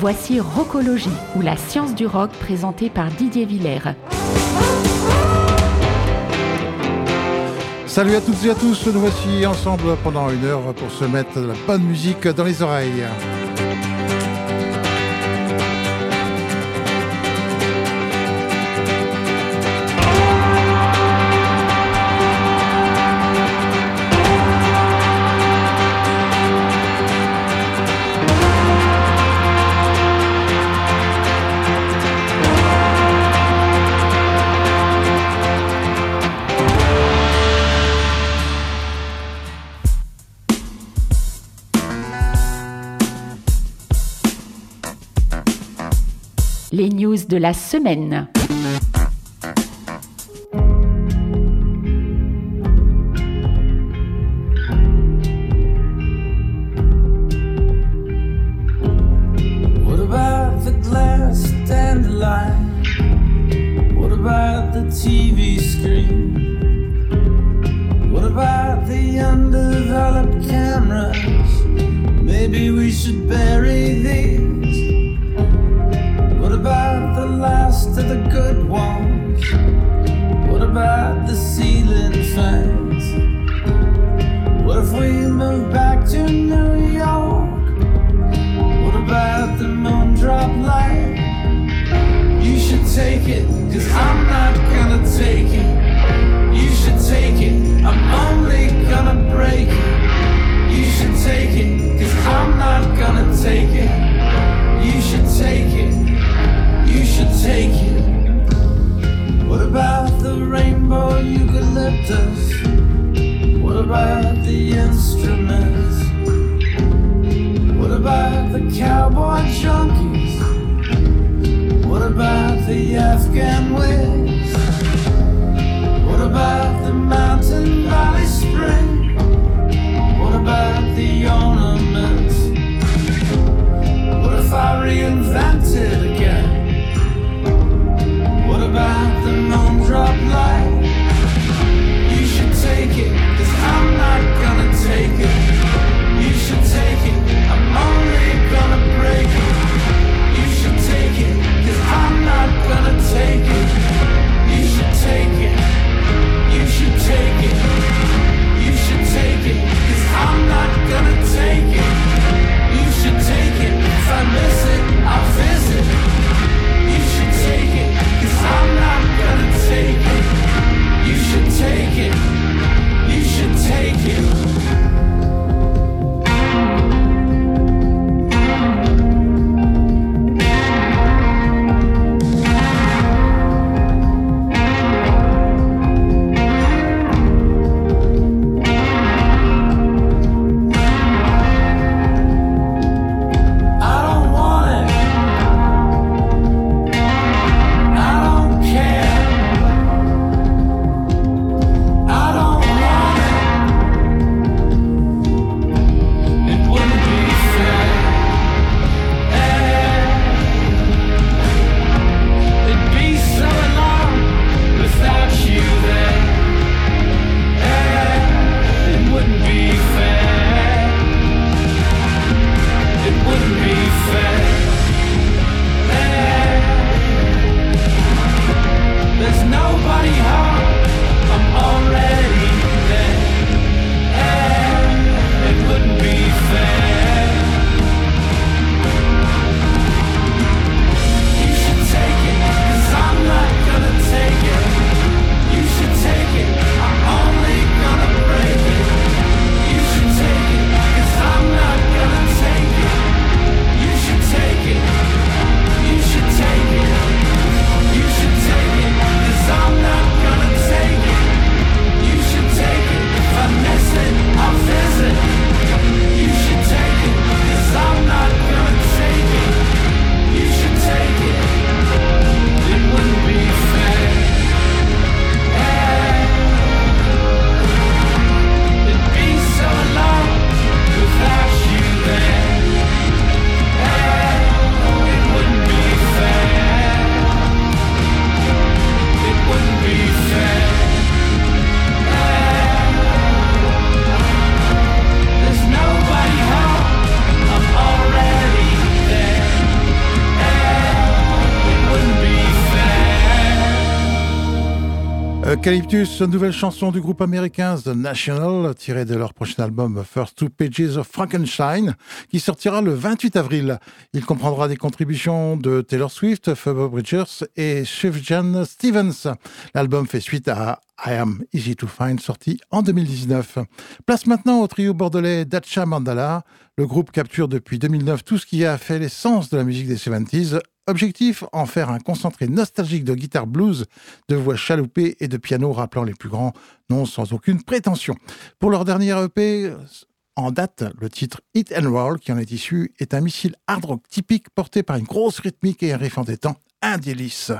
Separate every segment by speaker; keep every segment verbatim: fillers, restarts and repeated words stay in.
Speaker 1: Voici Rockologie, ou la science du rock présentée par Didier Villers.
Speaker 2: Salut à toutes et à tous, nous voici ensemble pendant une heure pour se mettre de la bonne musique dans les oreilles.
Speaker 1: Les news de la semaine.
Speaker 3: What about the glass dandelion? What about the T V screen? What about the undeveloped cameras? Maybe we should bury these. What about the last of the good ones? What about the ceiling fans? What if we move back to New York? What about the moon drop light? You should take it, cause I'm not gonna take it. You should take it, I'm only gonna break it. You should take it, cause I'm not gonna take it. You should take it. You should take it. What about the rainbow eucalyptus? What about the instruments? What about the cowboy junkies? What about the Afghan wigs? What about the mountain valley spring? What about the ornaments? What if I reinvented again? What about the moon drop light? You should take it, cause I'm not gonna take it. You should take it, I'm only gonna break it. You should take it, cause I'm not gonna take it. You should take it, you should take it. You should
Speaker 2: Eucalyptus, nouvelle chanson du groupe américain The National, tirée de leur prochain album First Two Pages of Frankenstein, qui sortira le vingt-huit avril. Il comprendra des contributions de Taylor Swift, Phoebe Bridgers et Sufjan Stevens. L'album fait suite à I Am Easy to Find, sorti en deux mille dix-neuf. Place maintenant au trio bordelais Dacha Mandala. Le groupe capture depuis deux mille neuf tout ce qui a fait l'essence de la musique des soixante-dix. Objectif, en faire un concentré nostalgique de guitare blues, de voix chaloupée et de piano rappelant les plus grands noms sans aucune prétention. Pour leur dernier E P, en date, le titre Hit and Roll, qui en est issu, est un missile hard rock typique porté par une grosse rythmique et un riff entêtant, un délice.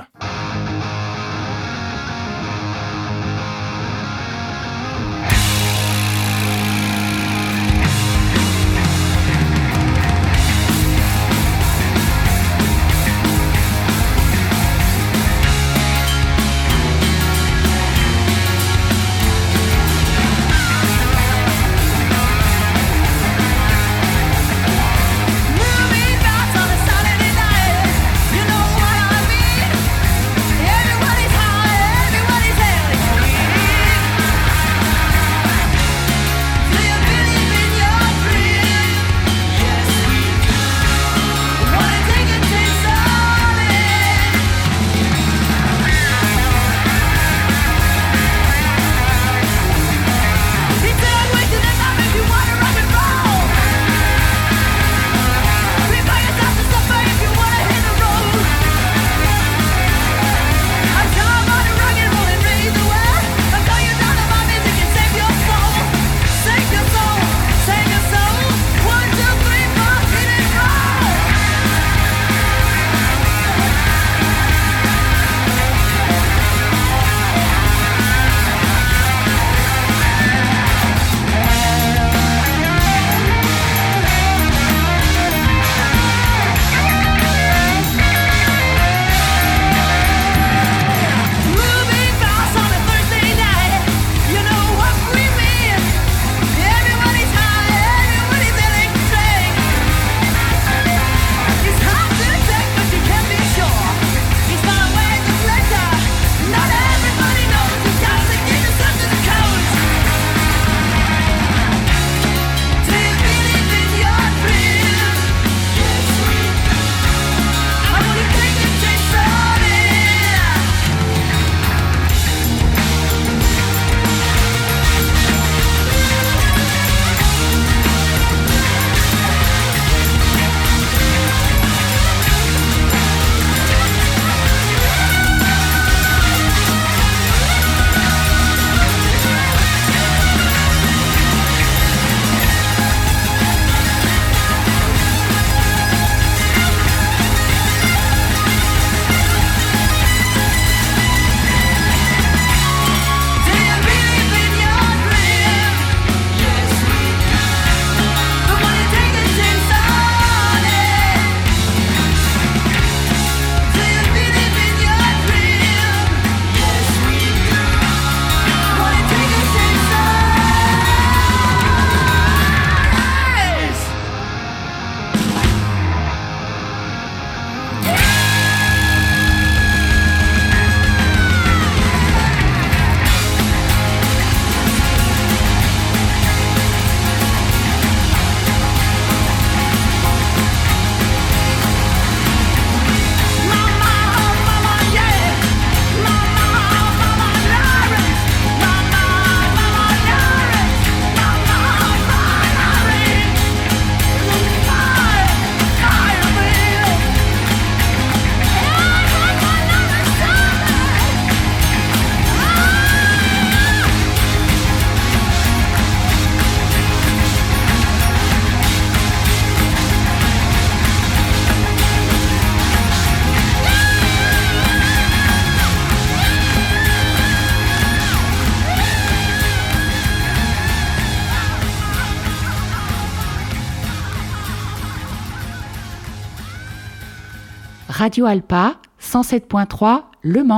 Speaker 1: Radio Alpa, cent sept point trois, Le Mans.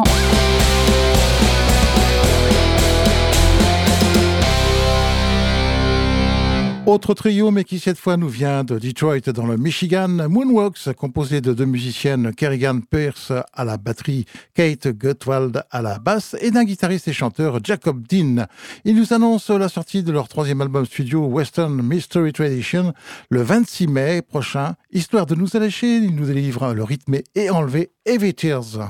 Speaker 2: Autre trio, mais qui cette fois nous vient de Detroit dans le Michigan, Moonwalks, composé de deux musiciennes, Kerrigan Pierce à la batterie, Kate Gutwald à la basse et d'un guitariste et chanteur, Jacob Dean. Ils nous annoncent la sortie de leur troisième album studio, Western Mystery Tradition, le vingt-six mai prochain. Histoire de nous allécher, ils nous délivrent le rythmé et enlevé Heavy Tears.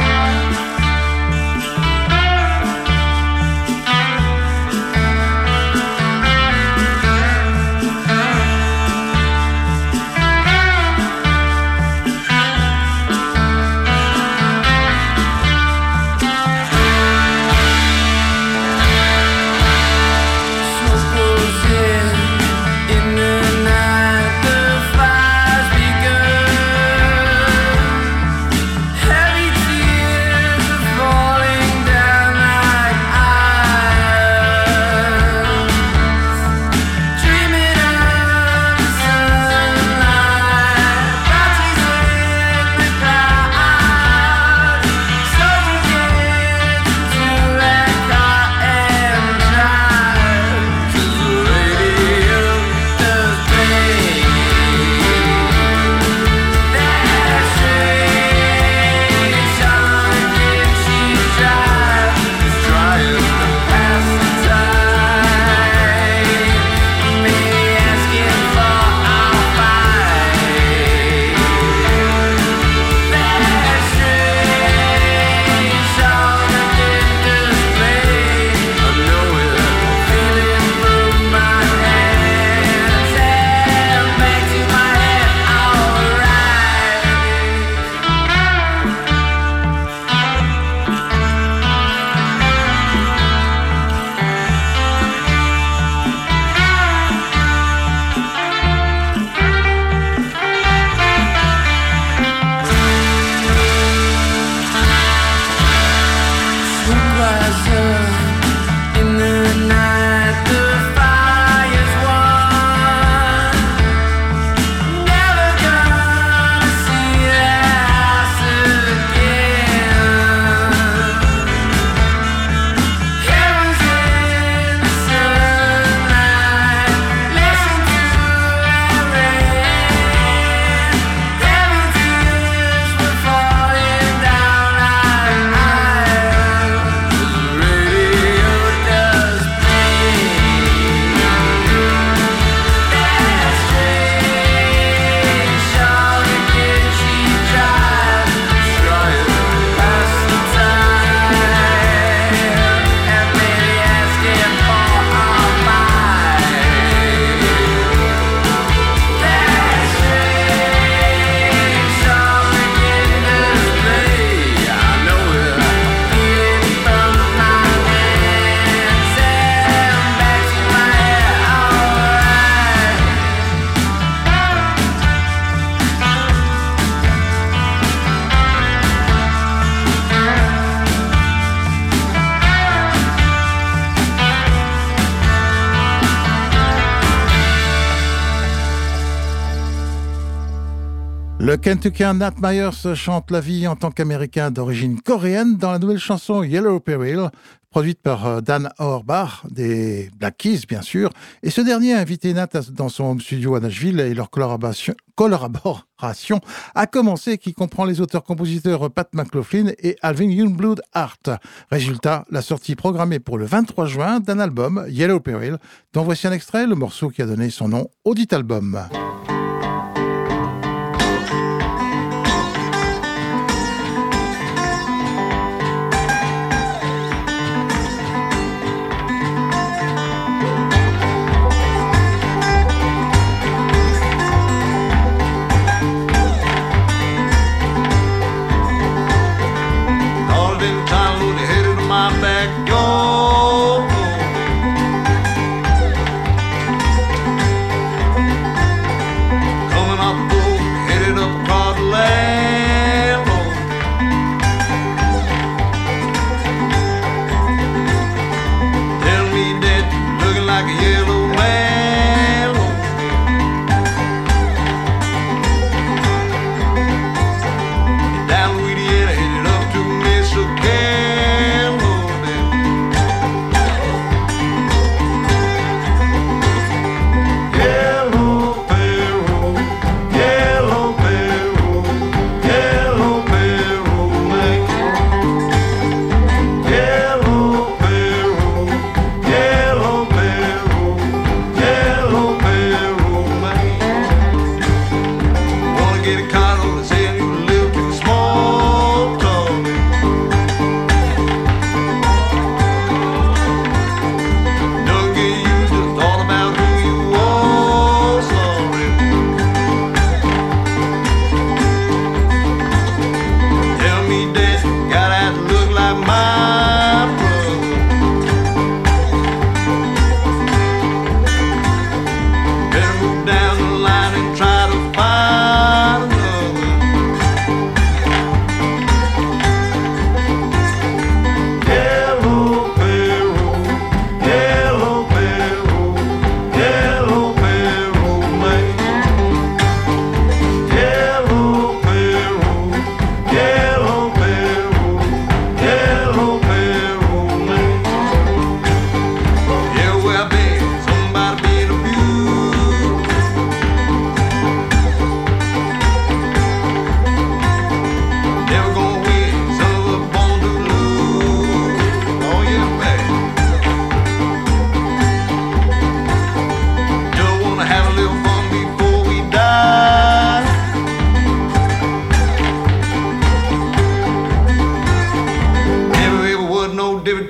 Speaker 2: Le Kentuckien Nat Myers chante la vie en tant qu'Américain d'origine coréenne dans la nouvelle chanson Yellow Peril, produite par Dan Auerbach, des Black Keys bien sûr. Et ce dernier a invité Nat dans son home studio à Nashville et leur collaboration, collaboration a commencé, qui comprend les auteurs-compositeurs Pat McLaughlin et Alvin Youngblood Hart. Résultat, la sortie programmée pour le vingt-trois juin d'un album, Yellow Peril, dont voici un extrait, le morceau qui a donné son nom au dit album.
Speaker 4: Backyard.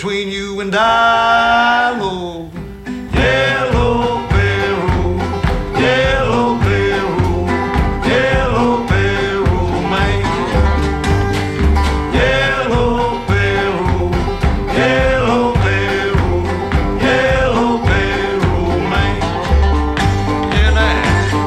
Speaker 4: between you and I, Lord. Yellow Peru, Yellow Peru, Yellow Peru, man. Yellow Peru, Yellow Peru, Yellow Peru, man. Yeah, now.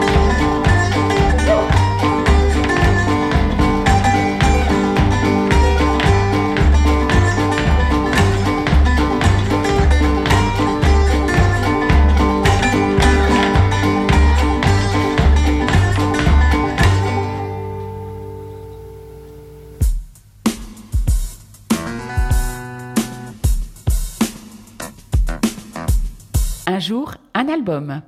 Speaker 1: Un jour, un album.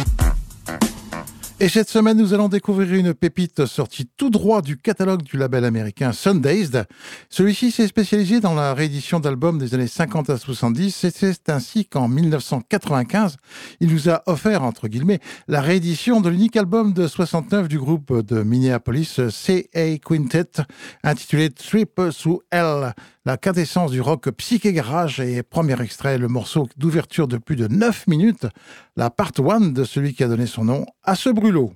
Speaker 2: Et cette semaine, nous allons découvrir une pépite sortie tout droit du catalogue du label américain Sundazed. Celui-ci s'est spécialisé dans la réédition d'albums des années cinquante à soixante-dix et c'est ainsi qu'en dix-neuf cent quatre-vingt-quinze, il nous a offert, entre guillemets, la réédition de l'unique album de soixante-neuf du groupe de Minneapolis C A Quintet, intitulé Trip Through Hell, la quintessence du rock psyché garage et premier extrait, le morceau d'ouverture de plus de neuf minutes, la part un de celui qui a donné son nom à ce brûlot.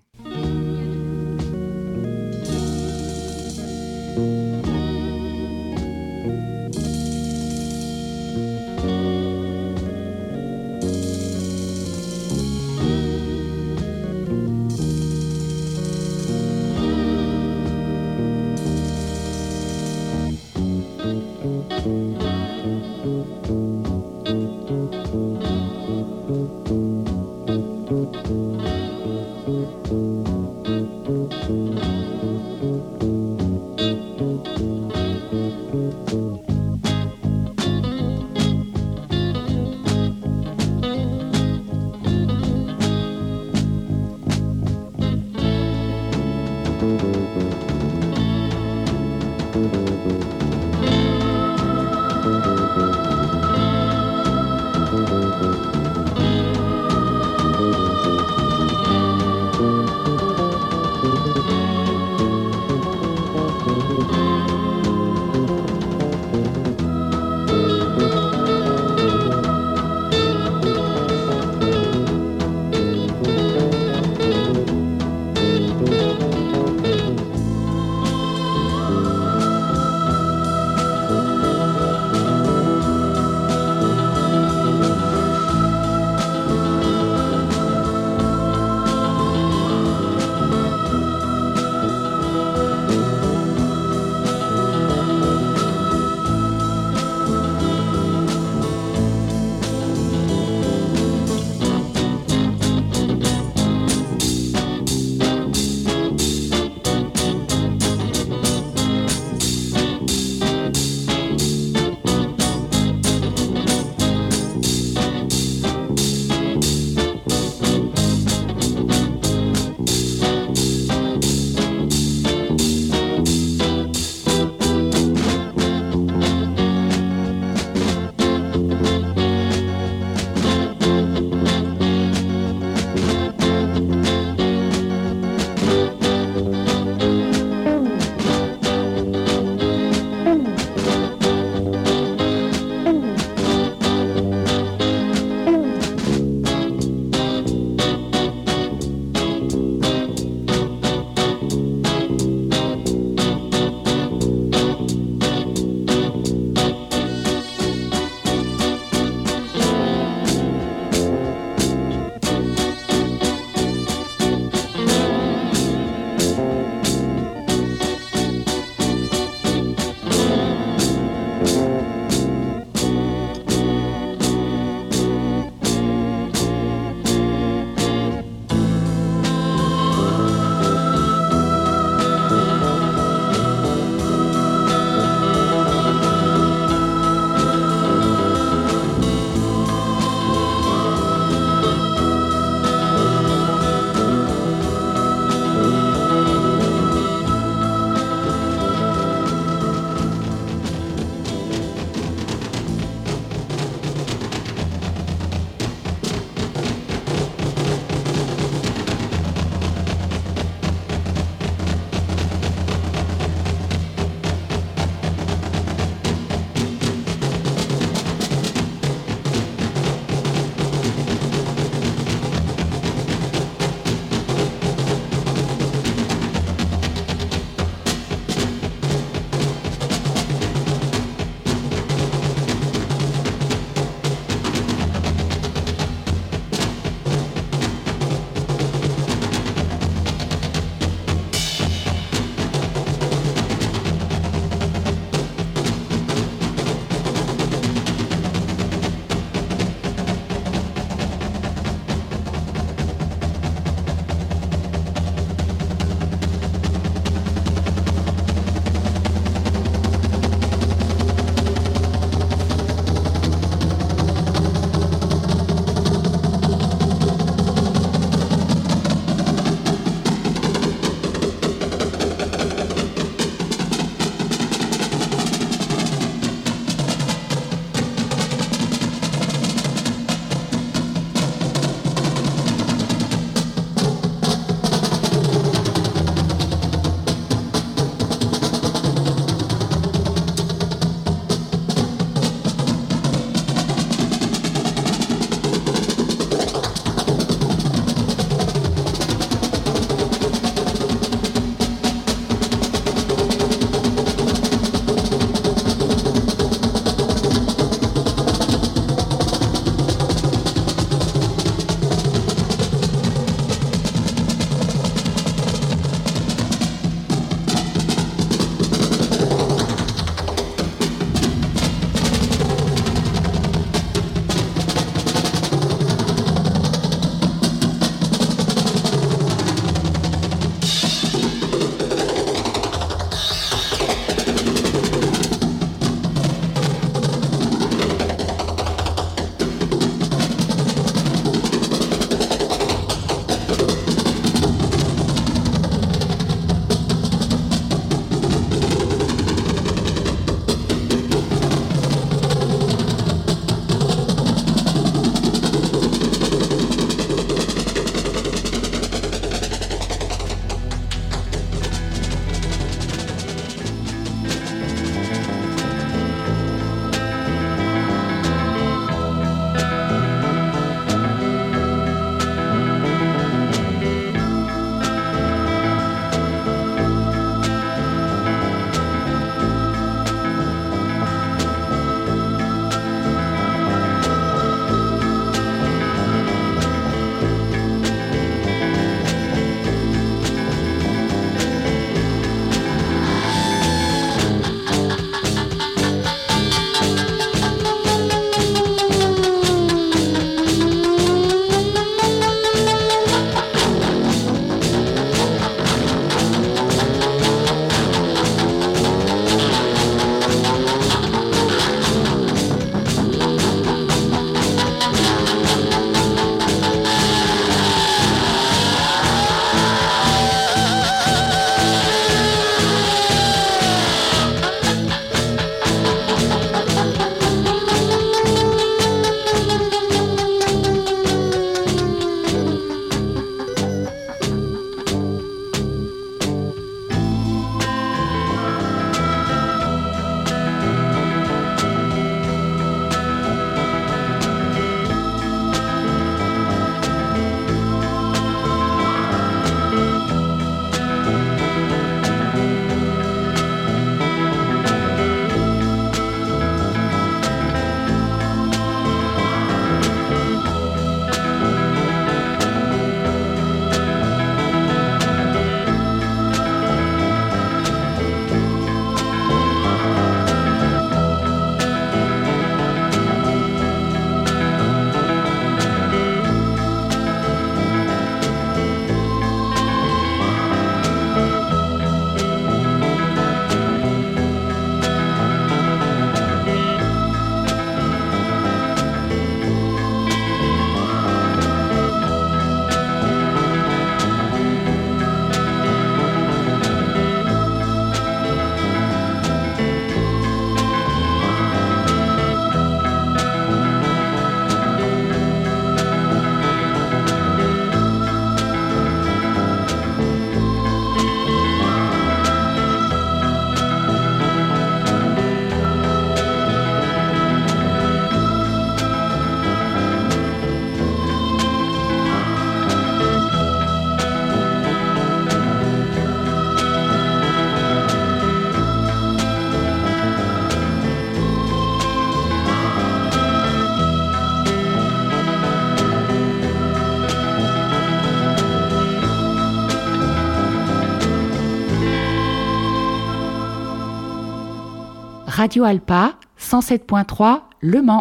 Speaker 1: Radio Alpa, cent sept point trois, Le Mans.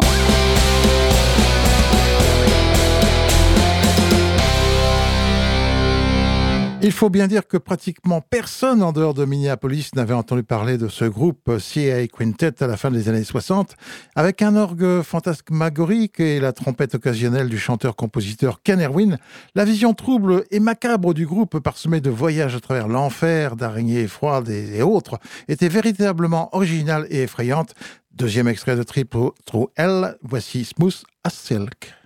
Speaker 2: Il faut bien dire que pratiquement personne en dehors de Minneapolis n'avait entendu parler de ce groupe C A Quintet à la fin des années soixante, avec un orgue fantasmagorique et la trompette occasionnelle du chanteur-compositeur Ken Erwin. La vision trouble et macabre du groupe, parsemée de voyages à travers l'enfer, d'araignées froides et autres, était véritablement originale et effrayante. Deuxième extrait de Trip Through Hell, voici Smooth as Silk.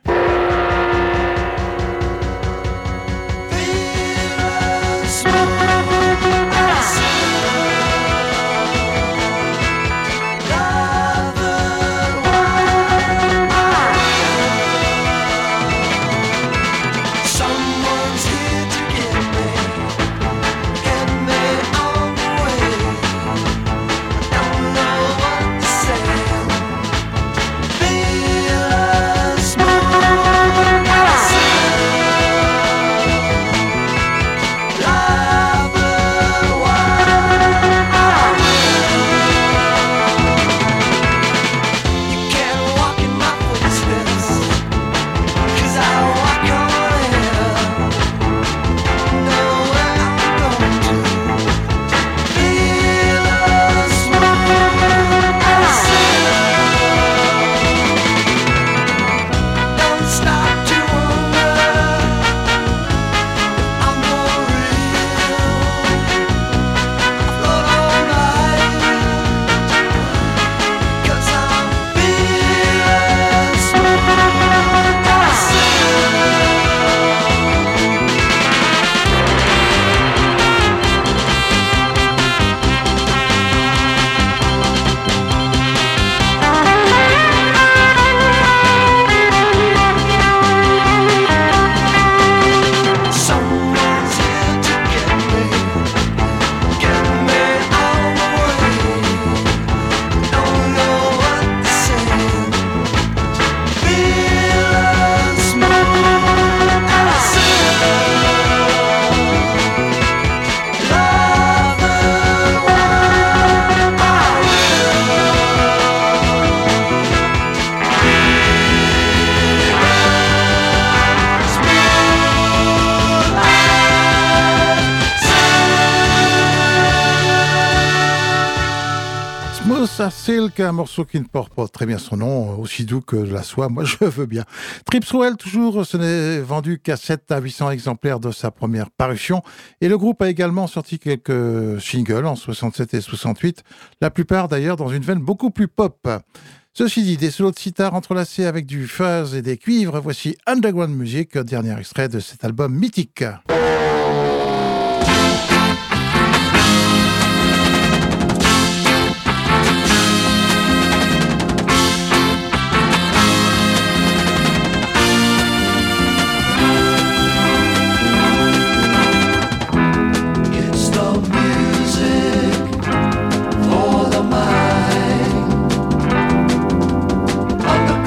Speaker 2: Silk, un morceau qui ne porte pas très bien son nom, aussi doux que la soie, moi je veux bien. Trip Through Hell, toujours, ce n'est vendu qu'à sept à huit cents exemplaires de sa première parution, et le groupe a également sorti quelques singles en soixante-sept et soixante-huit, la plupart d'ailleurs dans une veine beaucoup plus pop. Ceci dit, des solos de sitar entrelacés avec du fuzz et des cuivres, voici Underground Music, dernier extrait de cet album mythique.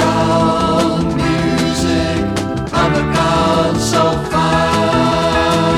Speaker 5: So fine.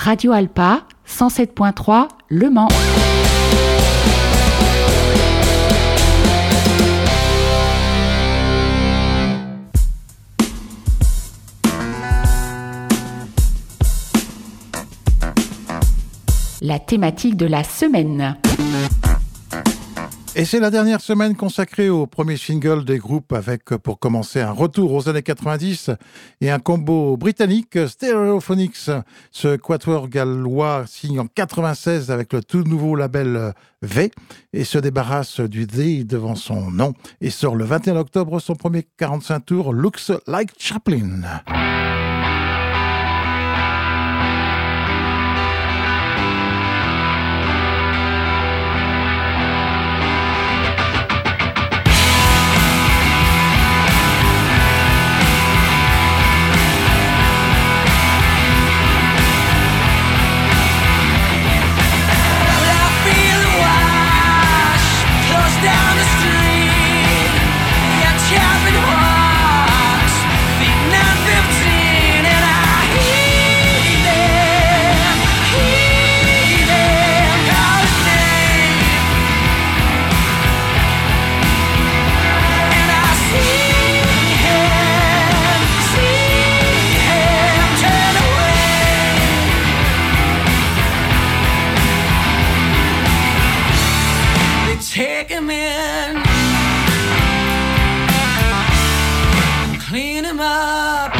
Speaker 1: Radio Alpa, cent sept point trois, Le Mans. La thématique de la semaine.
Speaker 2: Et c'est la dernière semaine consacrée au premier single des groupes avec, pour commencer, un retour aux années quatre-vingt-dix et un combo britannique, Stereophonics. Ce quatuor gallois signe en quatre-vingt-seize avec le tout nouveau label V et se débarrasse du D devant son nom et sort le vingt et un octobre son premier quarante-cinq tours, Looks Like Chaplin.
Speaker 3: Take him in, clean him up,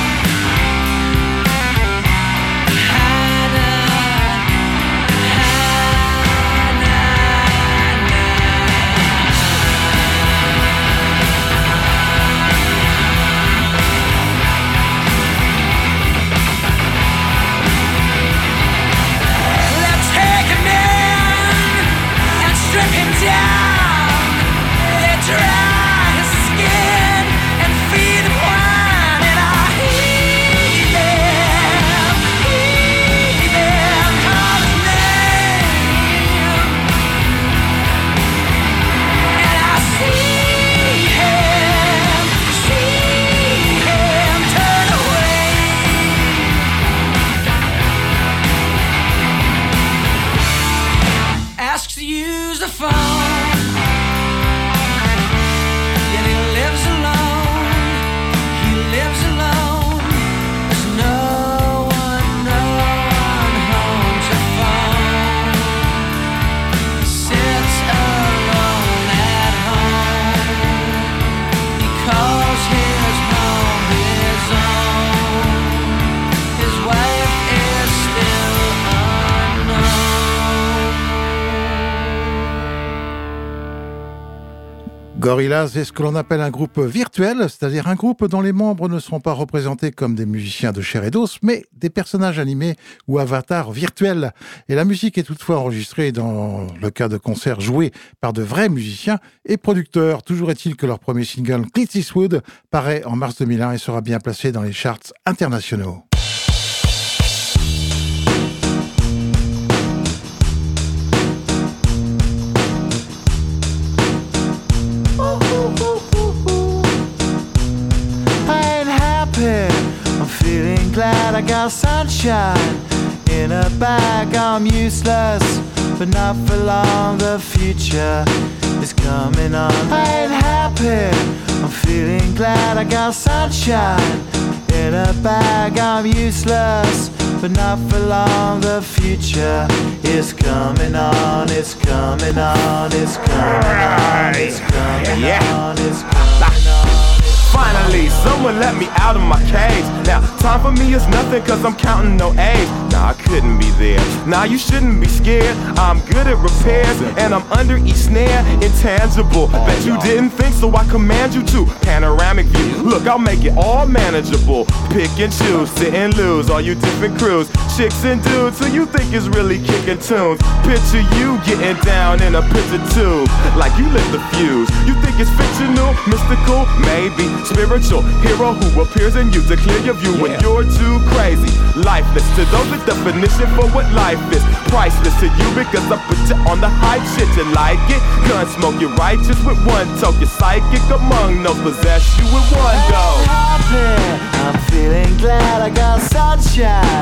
Speaker 3: hide up, hide Let's take him in and strip him down. They dry his skin and feed him wine, and I heed them, heed them, call his name, and I see him, see him turn away. Asks to use the phone.
Speaker 2: Gorillaz est ce que l'on appelle un groupe virtuel, c'est-à-dire un groupe dont les membres ne seront pas représentés comme des musiciens de chair et d'os, mais des personnages animés ou avatars virtuels. Et la musique est toutefois enregistrée dans le cas de concerts joués par de vrais musiciens et producteurs. Toujours est-il que leur premier single, Clint Eastwood, paraît en mars deux mille un et sera bien placé dans les charts internationaux.
Speaker 5: I'm feeling glad I got sunshine in a bag. I'm useless, but not for long. The future is coming on. I ain't happy. I'm feeling glad I got sunshine in a bag. I'm useless, but not for long. The future is coming on. It's coming on. It's coming on. It's coming on. It's coming on.
Speaker 6: Finally, someone let me out of my cage. Now, time for me is nothing cause I'm counting no A's. Nah, I couldn't be there. Nah, you shouldn't be scared. I'm good at repairs and I'm under each snare. Intangible, bet you didn't think so I command you to. Panoramic view, look, I'll make it all manageable. Pick and choose, sit and lose, all you different crews. Chicks and dudes who you think is really kicking tunes. Picture you getting down in a picture tube, like you lit the fuse. You think it's fictional, mystical, maybe spiritual hero who appears in you to clear your view when you're too crazy. Lifeless to those, the definition for what life is. Priceless to you because I put you on the hype shit. You like it? Gun smoke, you're righteous with one toke. You're psychic among those, possess you with one go.
Speaker 5: I'm feeling glad I got sunshine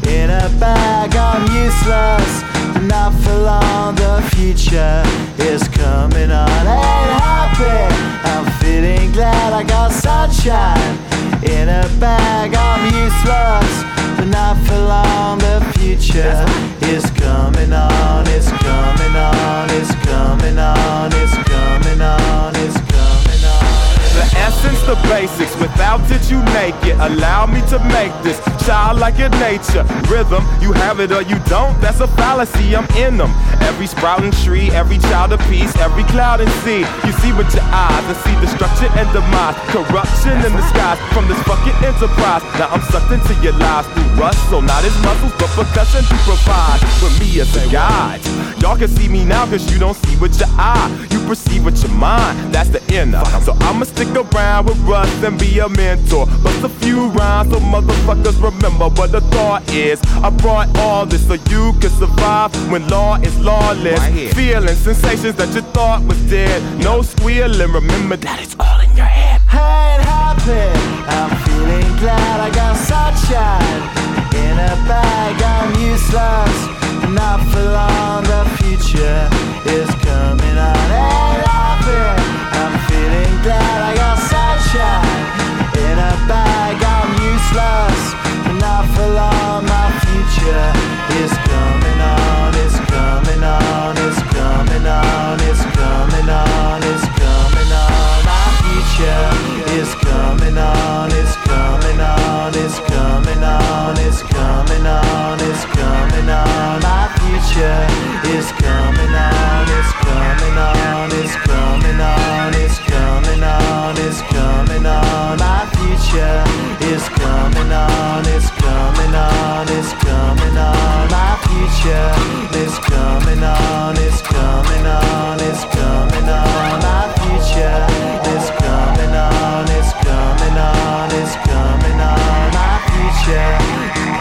Speaker 5: in a bag. I'm useless, but not for long. The future is coming on. Ain't happy, I'm feeling glad. I got sunshine in a bag. I'm useless, but not for long. The future is coming on. It's coming on. It's coming on. It's coming on. It's coming on.
Speaker 6: The essence, the basics, without it you make it. Allow me to make this childlike in nature. Rhythm, you have it or you don't, that's a fallacy, I'm in them. Every sprouting tree, every child of peace, every cloud and sea. You see with your eyes and see destruction and demise. Corruption in the skies from this fucking enterprise. Now I'm sucked into your lives through rust, so not his muscles, but percussion to provide for me as a guide. Y'all can see me now cause you don't see with your eye. You perceive with your mind, that's the inner. So I'ma stick around with Russ and be a mentor. Bust a few rhymes so motherfuckers remember what the thought is. I brought all this so you can survive when law is lawless. Right, feeling sensations that you thought was dead. No squealing, remember that it's all in your head.
Speaker 5: I ain't happy, I'm feeling glad. I got sunshine in a bag. I'm useless, not for long. The future is coming on. Ain't happy, I'm feeling glad. I got sunshine in a bag. I'm useless, not for long. My future is coming on. It's coming on. It's coming on. It's coming on. It's coming on. My future is coming on. It's coming on. It's coming on. It's coming on. It's coming on. My future is coming on. It's coming on. It's coming on. It's coming on. It's coming on. My future is coming on. It's coming on. It's coming on. My future is coming on. It's coming on. It's coming on. My future is coming on. It's coming on. It's coming on. My future.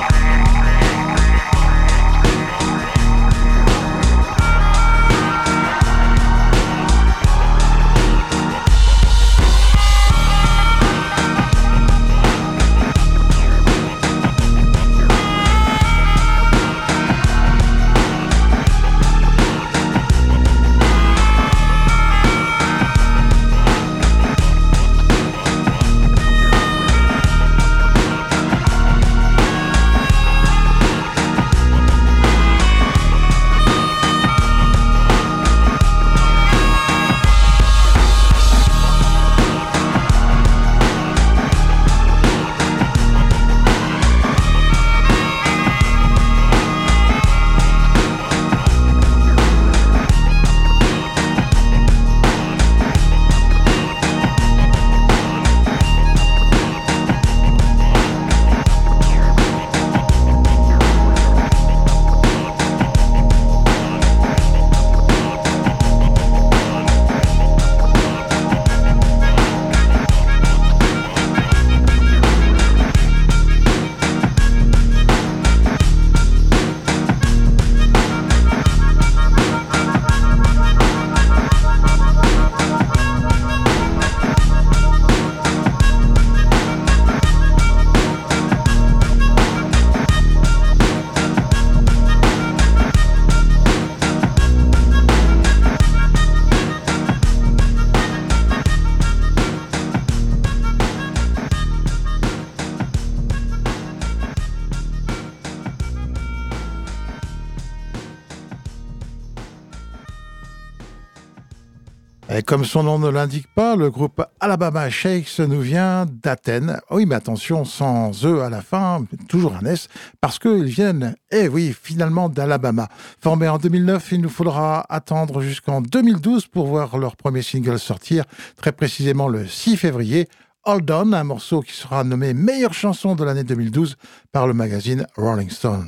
Speaker 2: Et comme son nom ne l'indique pas, le groupe Alabama Shakes nous vient d'Athènes. Oui, mais attention, sans E à la fin, toujours un S, parce qu'ils viennent, eh oui, finalement d'Alabama. Formés en deux mille neuf, il nous faudra attendre jusqu'en deux mille douze pour voir leur premier single sortir, très précisément le six février. Hold On, un morceau qui sera nommé meilleure chanson de l'année deux mille douze par le magazine Rolling Stone.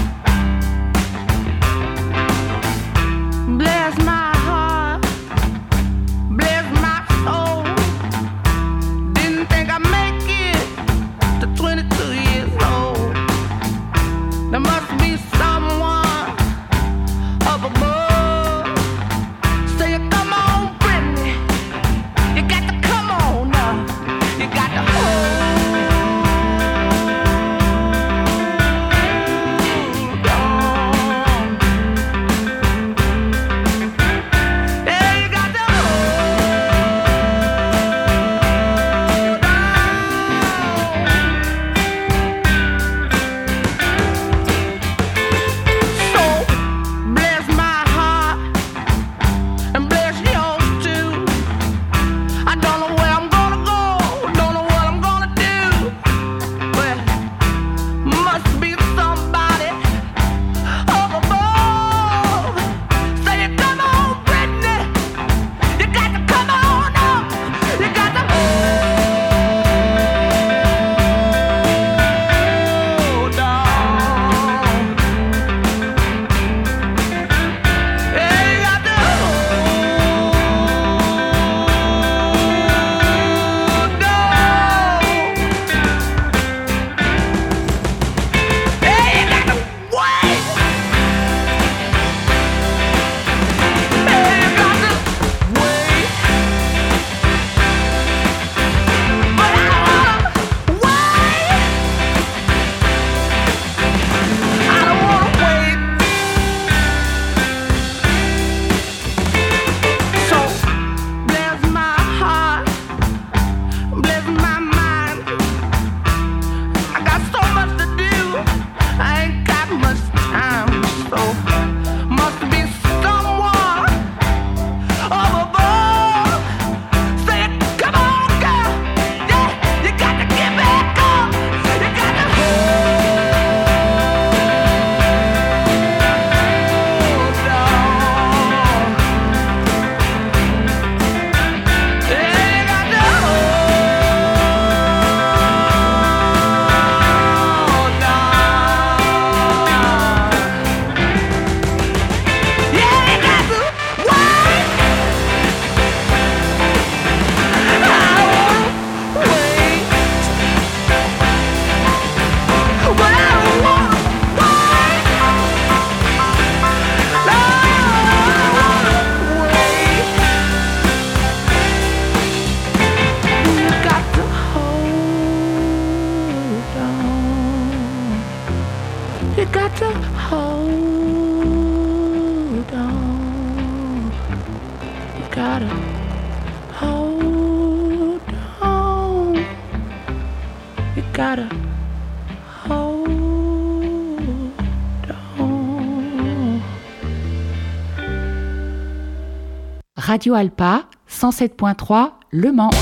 Speaker 7: Bless my heart
Speaker 1: gotta hold on. You gotta hold on. Radio Alpa, cent sept point trois, Le Mans.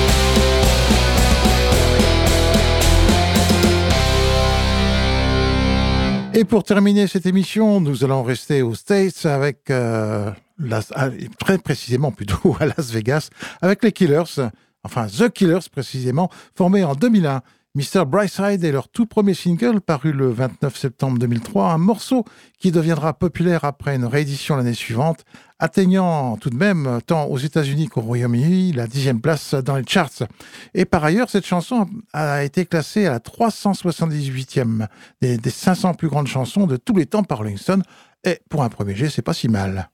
Speaker 2: Et pour terminer cette émission, nous allons rester aux States avec, euh, Las, très précisément plutôt à Las Vegas, avec les Killers, enfin The Killers précisément, formés en deux mille un. mister Brightside est leur tout premier single, paru le vingt-neuf septembre deux mille trois, un morceau qui deviendra populaire après une réédition l'année suivante, atteignant tout de même, tant aux États-Unis qu'au Royaume-Uni, la dixième place dans les charts. Et par ailleurs, cette chanson a été classée à la trois cent soixante-dix-huitième des, des cinq cents plus grandes chansons de tous les temps par Rolling Stone. Et pour un premier jet, c'est pas si mal.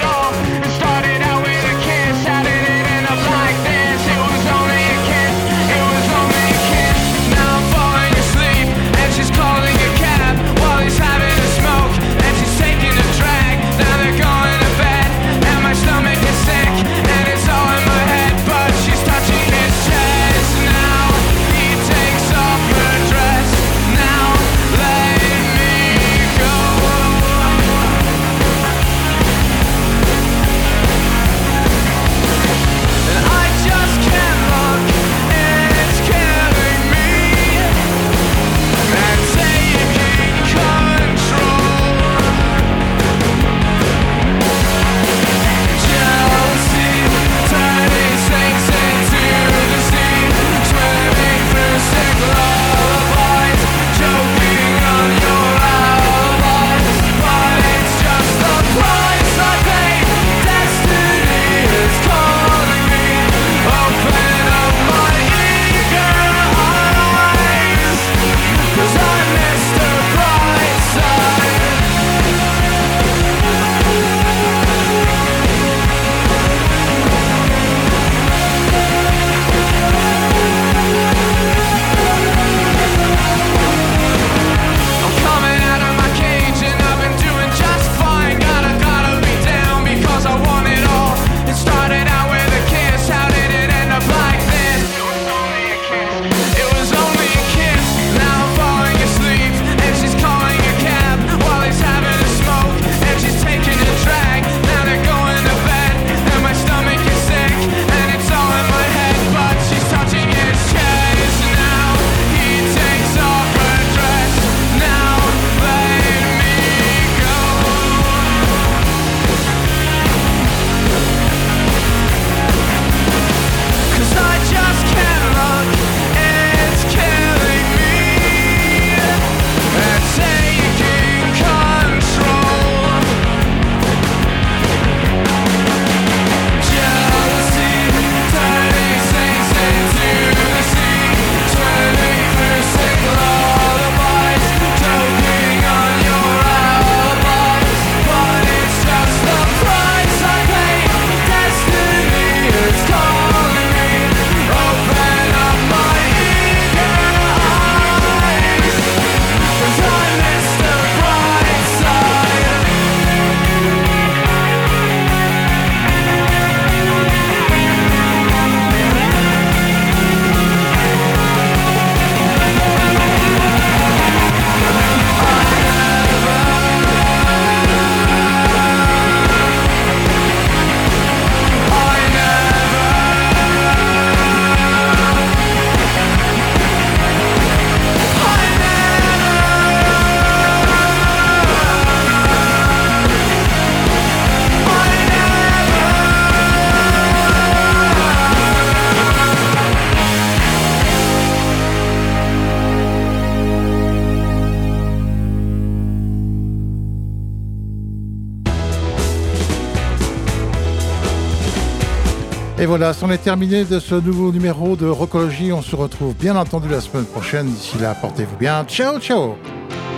Speaker 7: Started out with a kiss, added it in a black dance. It was only a kiss.
Speaker 2: Et voilà, c'en est terminé de ce nouveau numéro de Rockologie. On se retrouve bien entendu la semaine prochaine. D'ici là, portez-vous bien. Ciao, ciao.